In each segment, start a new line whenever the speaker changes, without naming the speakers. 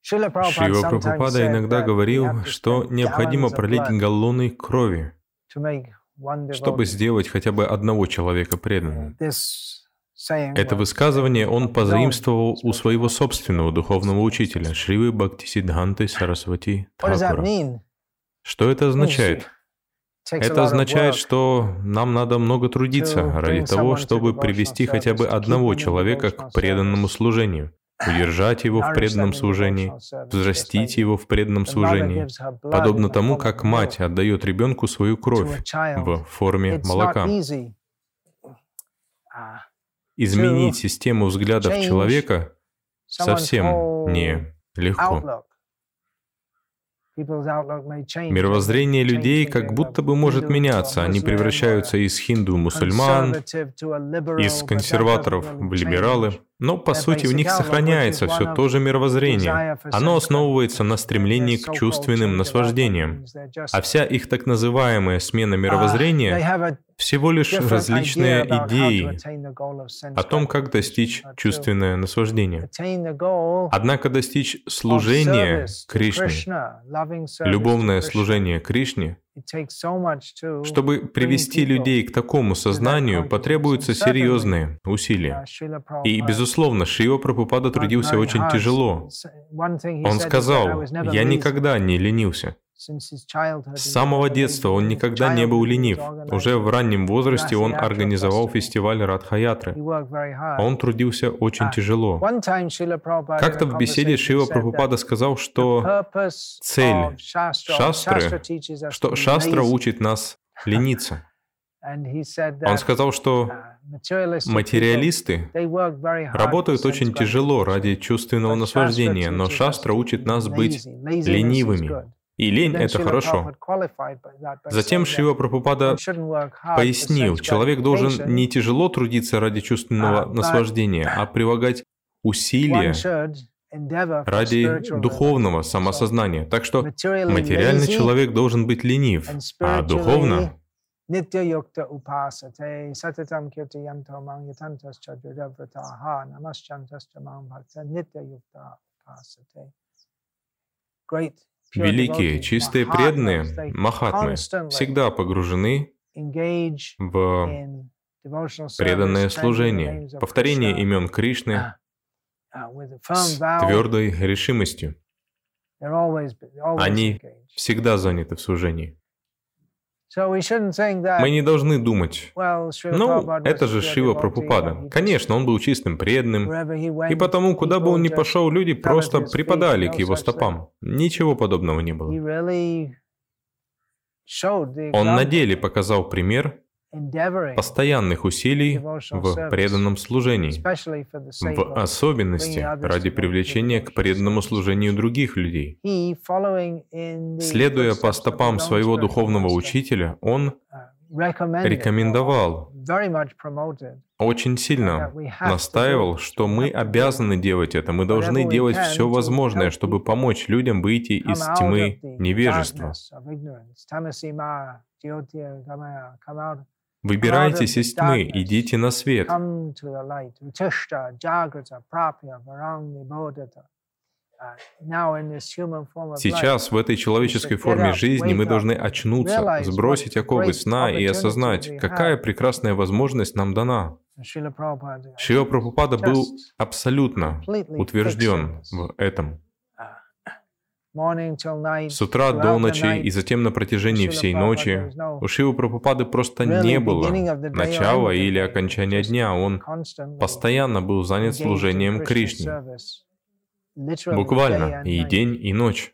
Шрила Прабхупада иногда говорил, что необходимо пролить галлоны крови, чтобы сделать хотя бы одного человека преданным. Это высказывание он позаимствовал у своего собственного духовного учителя, Шривы Бхактисиддханты Сарасвати Тхакура. Что это означает? Это означает, что нам надо много трудиться ради того, чтобы привести хотя бы одного человека к преданному служению, удержать его в преданном служении, взрастить его в преданном служении, подобно тому, как мать отдает ребенку свою кровь в форме молока. Изменить систему взглядов человека совсем не легко. Мировоззрение людей как будто бы может меняться. Они превращаются из хинду-мусульман, из консерваторов в либералы. Но, по сути, у них сохраняется все то же мировоззрение. Оно основывается на стремлении к чувственным наслаждениям. А вся их так называемая смена мировоззрения — всего лишь различные идеи о том, как достичь чувственное наслаждение. Однако достичь служения Кришне, любовное служение Кришне, чтобы привести людей к такому сознанию, потребуются серьезные усилия. И, безусловно, Шрила Прабхупада трудился очень тяжело. Он сказал: «Я никогда не ленился». С самого детства он никогда не был ленив. Уже в раннем возрасте он организовал фестиваль Радха-ятры. Он трудился очень тяжело. Как-то в беседе Шрила Прабхупада сказал, что цель шастры, что шастра учит нас лениться. Он сказал, что материалисты работают очень тяжело ради чувственного наслаждения, но шастра учит нас быть ленивыми. И лень — это хорошо. Затем Шрила Прабхупада пояснил, человек должен не тяжело трудиться ради чувственного наслаждения, а прилагать усилия ради духовного самосознания. Так что материальный человек должен быть ленив, а духовно великие, чистые преданные, махатмы, всегда погружены в преданное служение, повторение имен Кришны с твердой решимостью. Они всегда заняты в служении. Мы не должны думать: ну, это же Шрила Прабхупада. Конечно, он был чистым преданным, и потому, куда бы он ни пошел, люди просто припадали к его стопам. Ничего подобного не было. Он на деле показал пример постоянных усилий в преданном служении, в особенности ради привлечения к преданному служению других людей. Следуя по стопам своего духовного учителя, он рекомендовал, очень сильно настаивал, что мы обязаны делать это, мы должны делать все возможное, чтобы помочь людям выйти из тьмы невежества. Выбирайтесь из тьмы, идите на свет. Сейчас, в этой человеческой форме жизни, мы должны очнуться, сбросить оковы сна и осознать, какая прекрасная возможность нам дана. Шрила Прабхупада был абсолютно утвержден в этом. С утра до ночи и затем на протяжении всей ночи у Шрилы Прабхупады просто не было начала или окончания дня. Он постоянно был занят служением Кришне. Буквально и день, и ночь.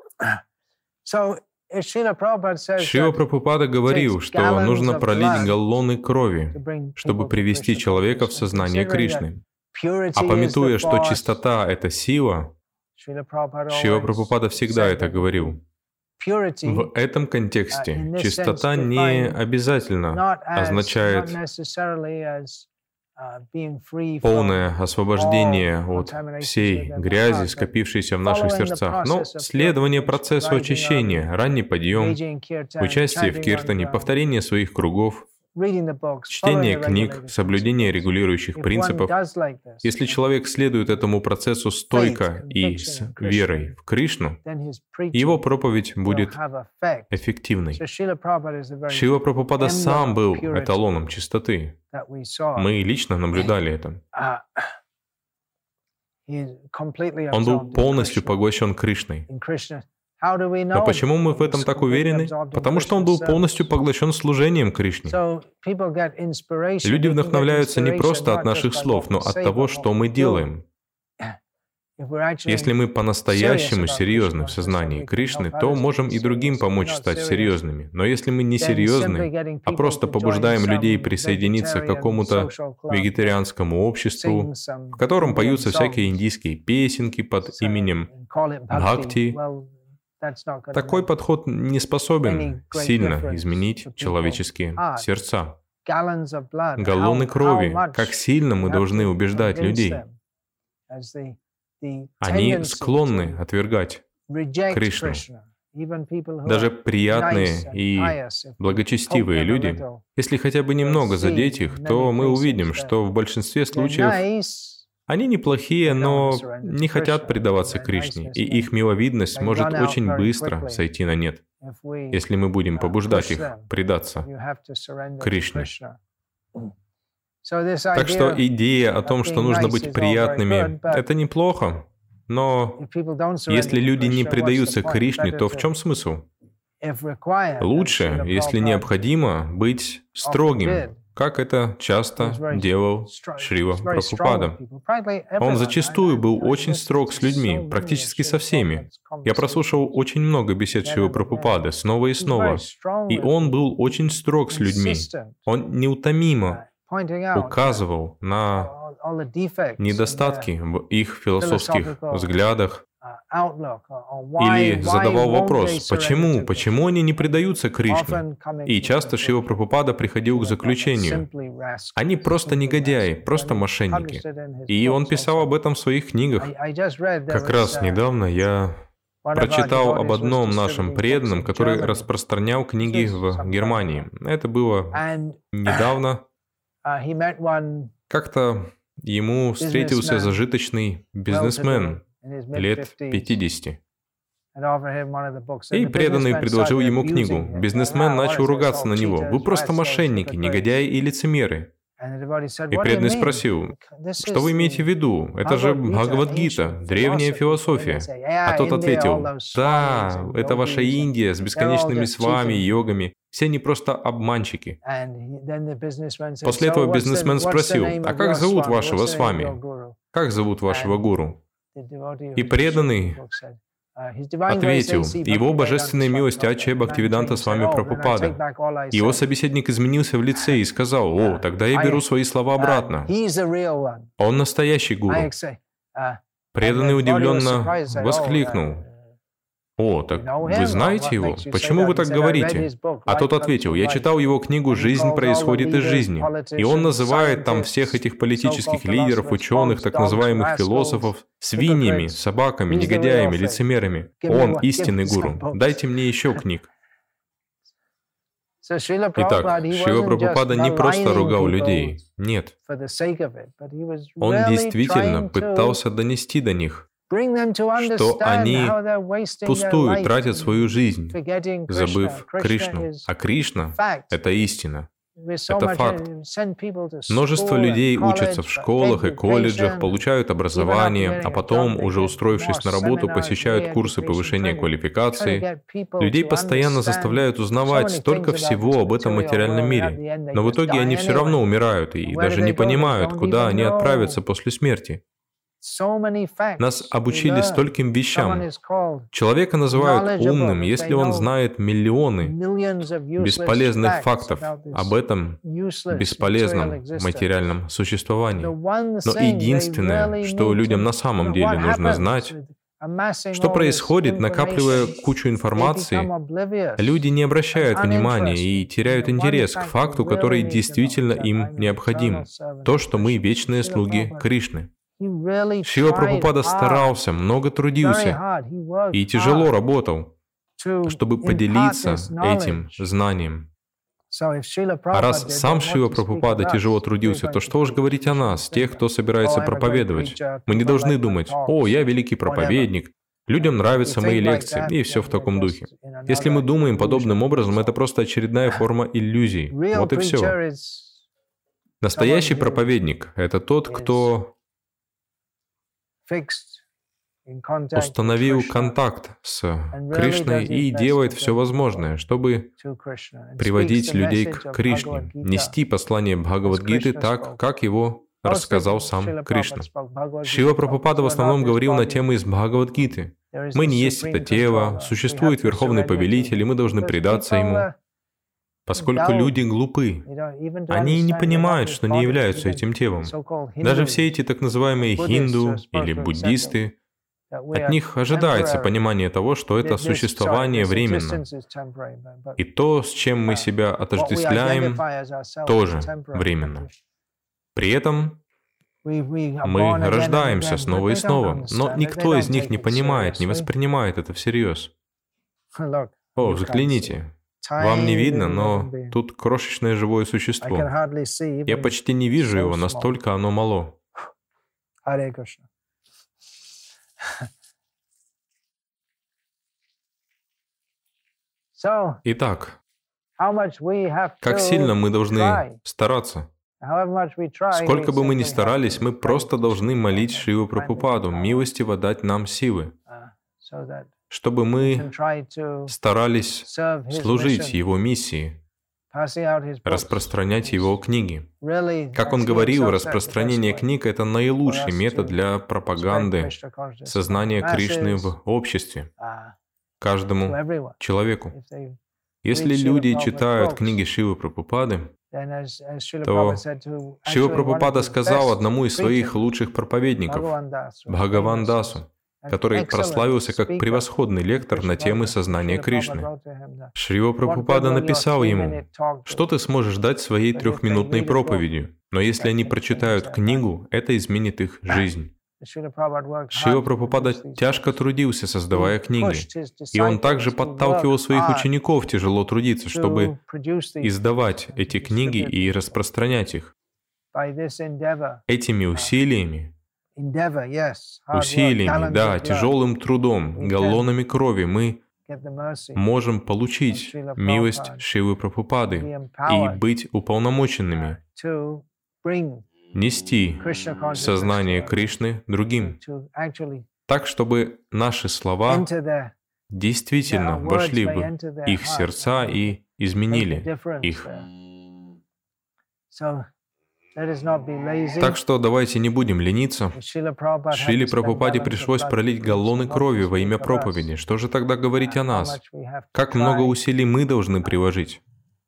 Шрила Прабхупада говорил, что нужно пролить галлоны крови, чтобы привести человека в сознание Кришны. А памятуя, что чистота — это сила, Шрила Прабхупада всегда это говорил. В этом контексте чистота не обязательно означает полное освобождение от всей грязи, скопившейся в наших сердцах, но следование процессу очищения, ранний подъем, участие в киртане, повторение своих кругов, Чтение книг, соблюдение регулирующих принципов. Если человек следует этому процессу стойко и с верой в Кришну, его проповедь будет эффективной. Шрила Прабхупада сам был эталоном чистоты. Мы лично наблюдали это. Он был полностью поглощен Кришной. Но почему мы в этом так уверены? Потому что он был полностью поглощен служением Кришне. Люди вдохновляются не просто от наших слов, но от того, что мы делаем. Если мы по-настоящему серьезны в сознании Кришны, то можем и другим помочь стать серьезными. Но если мы не серьезны, а просто побуждаем людей присоединиться к какому-то вегетарианскому обществу, в котором поются всякие индийские песенки под именем Бхакти, такой подход не способен сильно изменить человеческие сердца. Галлоны крови, как сильно мы должны убеждать людей. Они склонны отвергать Кришну. Даже приятные и благочестивые люди, если хотя бы немного задеть их, то мы увидим, что в большинстве случаев они неплохие, но не хотят предаваться Кришне, и их миловидность может очень быстро сойти на нет, если мы будем побуждать их предаться Кришне. Так что идея о том, что нужно быть приятными, это неплохо, но если люди не предаются Кришне, то в чем смысл? Лучше, если необходимо, быть строгим, как это часто делал Шрила Прабхупада. Он зачастую был очень строг с людьми, практически со всеми. Я прослушал очень много бесед Шрилы Прабхупады снова и снова, и он был очень строг с людьми. Он неутомимо указывал на недостатки в их философских взглядах или задавал вопрос, почему они не предаются Кришне? И часто Шрила Прабхупада приходил к заключению: они просто негодяи, просто мошенники. И он писал об этом в своих книгах. Как раз недавно я прочитал об одном нашем преданном, который распространял книги в Германии. Это было недавно. Как-то ему встретился зажиточный бизнесмен лет 50. И преданный предложил ему книгу. Бизнесмен начал ругаться на него. «Вы просто мошенники, негодяи и лицемеры». И преданный спросил: «Что вы имеете в виду? Это же Бхагавад-гита, древняя философия». А тот ответил: «Да, это ваша Индия с бесконечными свами, йогами. Все они просто обманщики». После этого бизнесмен спросил: «А как зовут вашего свами? Как зовут вашего гуру?» И преданный ответил: «Его божественная милость Ачарья Бхактивиданта Свами Прабхупада». Его собеседник изменился в лице и сказал: «О, тогда я беру свои слова обратно. Он настоящий гуру». Преданный удивленно воскликнул: «О, так вы знаете его? Почему вы так говорите?» А тот ответил: «Я читал его книгу «Жизнь происходит из жизни», и он называет там всех этих политических лидеров, ученых, так называемых философов свиньями, собаками, негодяями, лицемерами. Он истинный гуру. Дайте мне еще книг». Итак, Шрила Прабхупада не просто ругал людей, нет. Он действительно пытался донести до них, что они впустую тратят свою жизнь, забыв Кришну. А Кришна — это истина. Это факт. Множество людей учатся в школах и колледжах, получают образование, а потом, уже устроившись на работу, посещают курсы повышения квалификации. Людей постоянно заставляют узнавать столько всего об этом материальном мире, но в итоге они все равно умирают и даже не понимают, куда они отправятся после смерти. Нас обучили стольким вещам. Человека называют умным, если он знает миллионы бесполезных фактов об этом бесполезном материальном существовании. Но единственное, что людям на самом деле нужно знать, что происходит, накапливая кучу информации, люди не обращают внимания и теряют интерес к факту, который действительно им необходим. То, что мы вечные слуги Кришны. Шрила Прабхупада старался, много трудился и тяжело работал, чтобы поделиться этим знанием. А раз сам Шрила Прабхупада тяжело трудился, то что уж говорить о нас, тех, кто собирается проповедовать. Мы не должны думать: «О, я великий проповедник, людям нравятся мои лекции», и все в таком духе. Если мы думаем подобным образом, это просто очередная форма иллюзий. Вот и все. Настоящий проповедник — это тот, кто установил контакт с Кришной и делает все возможное, чтобы приводить людей к Кришне, нести послание Бхагавад-гиты так, как его рассказал сам Кришна. Шрила Прабхупада в основном говорил на темы из Бхагавад-гиты. Мы не есть это тело, существует Верховный Повелитель, и мы должны предаться Ему. Поскольку люди глупы, они не понимают, что не являются этим телом. Даже все эти так называемые хинду или буддисты, от них ожидается понимание того, что это существование временно. И то, с чем мы себя отождествляем, тоже временно. При этом мы рождаемся снова и снова, но никто из них не понимает, не воспринимает это всерьез. О, взгляните. Вам не видно, но тут крошечное живое существо. Я почти не вижу его, настолько оно мало. Итак, как сильно мы должны стараться? Сколько бы мы ни старались, мы просто должны молить Шрилу Прабхупаду милостиво дать нам силы, чтобы мы старались служить Его миссии, распространять Его книги. Как он говорил, распространение книг — это наилучший метод для пропаганды сознания Кришны в обществе, каждому человеку. Если люди читают книги Шрилы Прабхупады, то Шрила Прабхупада сказал одному из своих лучших проповедников, Бхагаван Дасу, который прославился как превосходный лектор на темы сознания Кришны. Шрила Прабхупада написал ему: «Что ты сможешь дать своей 3-минутной проповедью? Но если они прочитают книгу, это изменит их жизнь». Шрила Прабхупада тяжко трудился, создавая книги, и он также подталкивал своих учеников тяжело трудиться, чтобы издавать эти книги и распространять их. Этими усилиями, да, тяжелым трудом, галлонами крови мы можем получить милость Шрилы Прабхупады и быть уполномоченными нести сознание Кришны другим, так, чтобы наши слова действительно вошли в их сердца и изменили их. Так что давайте не будем лениться. Шриле Прабхупаде пришлось пролить галлоны крови во имя проповеди. Что же тогда говорить о нас? Как много усилий мы должны приложить?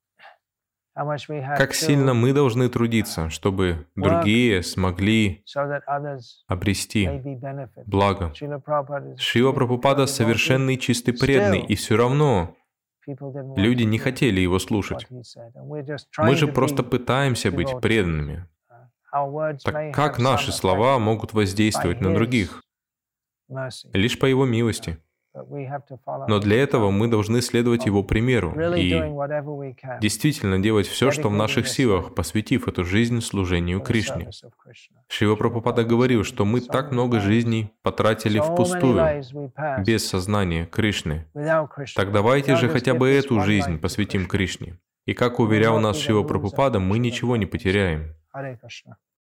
Как сильно мы должны трудиться, чтобы другие смогли обрести благо. Шрила Прабхупада совершенный чистый преданный, и все равно люди не хотели его слушать. Мы же просто пытаемся быть преданными. Так как наши слова могут воздействовать на других? Лишь по Его милости. Но для этого мы должны следовать Его примеру и действительно делать все, что в наших силах, посвятив эту жизнь служению Кришне. Шрила Прабхупада говорил, что мы так много жизней потратили впустую, без сознания Кришны. Так давайте же хотя бы эту жизнь посвятим Кришне. И как уверял нас Шрила Прабхупада, мы ничего не потеряем.